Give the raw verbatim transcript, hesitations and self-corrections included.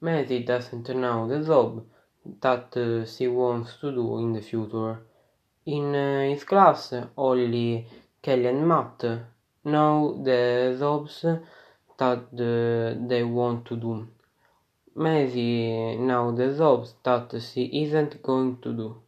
Mary doesn't know the job that uh, she wants to do in the future. In uh, his class, only Kelly and Matt know the jobs that uh, they want to do. Mary knows the jobs that she isn't going to do.